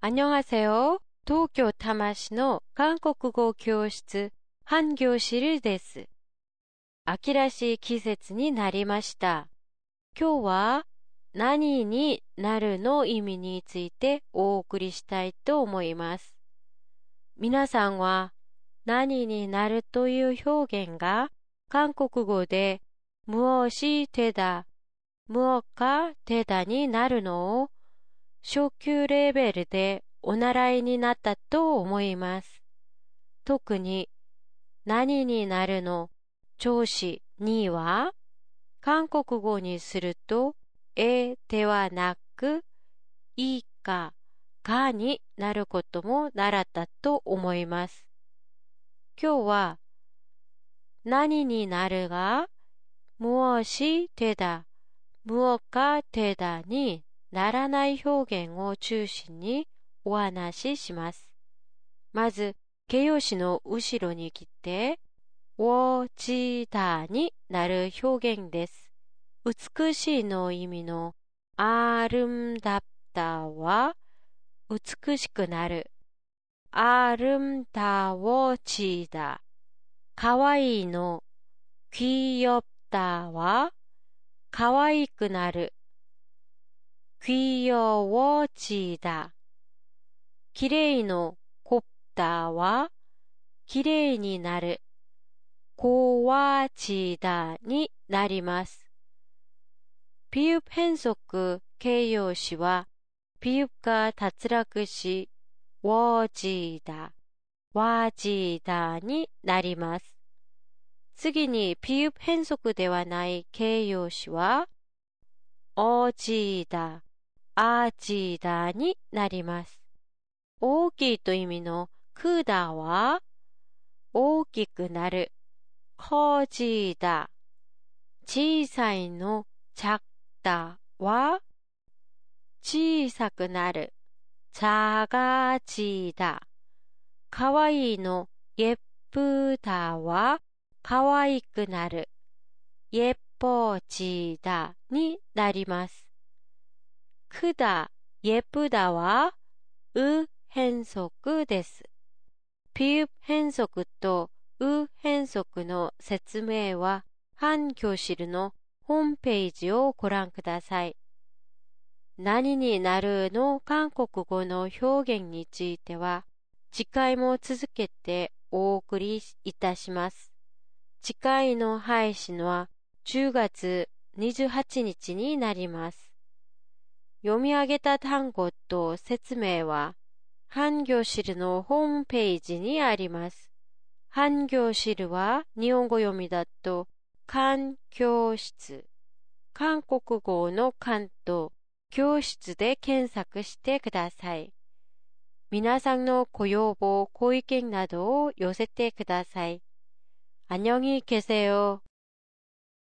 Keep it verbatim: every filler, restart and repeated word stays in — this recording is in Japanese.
안녕하세요. 도쿄 타마시の 韓国語教室、半教室です。秋らしい季節になりました。今日は何になるの意味についてお送りしたいと思います。皆さんは何になるという表現が韓国語で무엇이 되다、무엇가 되다になるのを初級レベルでお習いになったと思います。特に何になるの調子には韓国語にするとえではなくいかがになることも習ったと思います。今日は何になるが무엇이 되다、무엇가 되다にならない表現を中心にお話しします。まず、形容詞の後ろに来て、워じだになる表現です。美しいの意味のあるんだったは美しくなる。あるんだわちだ。かわいいの귀엽다はかわいくなる。귀여워지다。きれいの곱다はきれいになる。고와지다になります。比喩変則形容詞は比喩が脱落し、워지다、와지다になります。次に比喩変則ではない形容詞は、어지다、アジダになります。大きいという意味のクダは大きくなる。커지다。小さいの작다は小さくなる。작아지다。かわいいの예쁘다はかわいくなる。예뻐지다になります。크다、예쁘다はう変則です。比喩変則とう変則の説明は半教室のホームページをご覧ください。何になるの韓国語の表現については次回も続けてお送りいたします。次回の配信はじゅうがつにじゅうはちにちになります。読み上げた単語と説明は、半教室のホームページにあります。半教室は日本語読みだと、韓教室、韓国語の韓と教室で検索してください。皆さんのご要望、ご意見などを寄せてください。안녕히 계세요。